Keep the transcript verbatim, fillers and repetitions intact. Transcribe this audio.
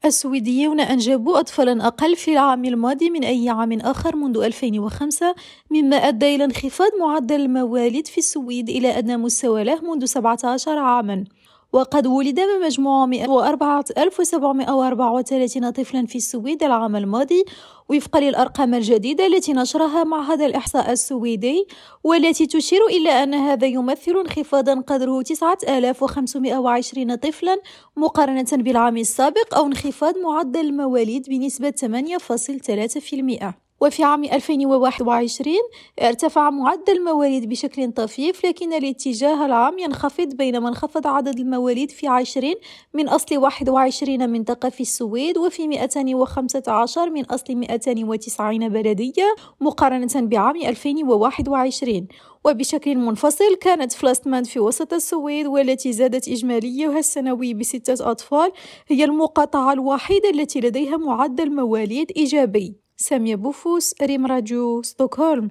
السويديون أنجبوا أطفالا أقل في العام الماضي من أي عام آخر منذ ألفين وخمسة، مما أدى إلى انخفاض معدل المواليد في السويد إلى أدنى مستوى له منذ سبعة عشر عاما. وقد ولد بمجموع مئة وأربعة آلاف وسبعمئة وأربعة وثلاثين طفلا في السويد العام الماضي، وفقا للأرقام الجديدة التي نشرها معهد الإحصاء السويدي، والتي تشير إلى أن هذا يمثل انخفاضا قدره تسعة آلاف وخمسمئة وعشرين طفلا مقارنة بالعام السابق، أو انخفاض معدل المواليد بنسبة ثمانية فاصلة ثلاثة بالمئة. وفي عام ألفين وواحد وعشرين ارتفع معدل المواليد بشكل طفيف، لكن الاتجاه العام ينخفض، بينما انخفض عدد المواليد في عشرين من أصل واحد وعشرين منطقة في السويد، وفي مئتين وخمسة عشر من أصل مئتين وتسعين بلدية مقارنة بعام ألفين وواحد وعشرين. وبشكل منفصل كانت فلاستماند في وسط السويد، والتي زادت إجماليها السنوي بستة أطفال، هي المقاطعة الوحيدة التي لديها معدل مواليد إيجابي. سامية بوفوس، ريم راديو، ستوكهولم.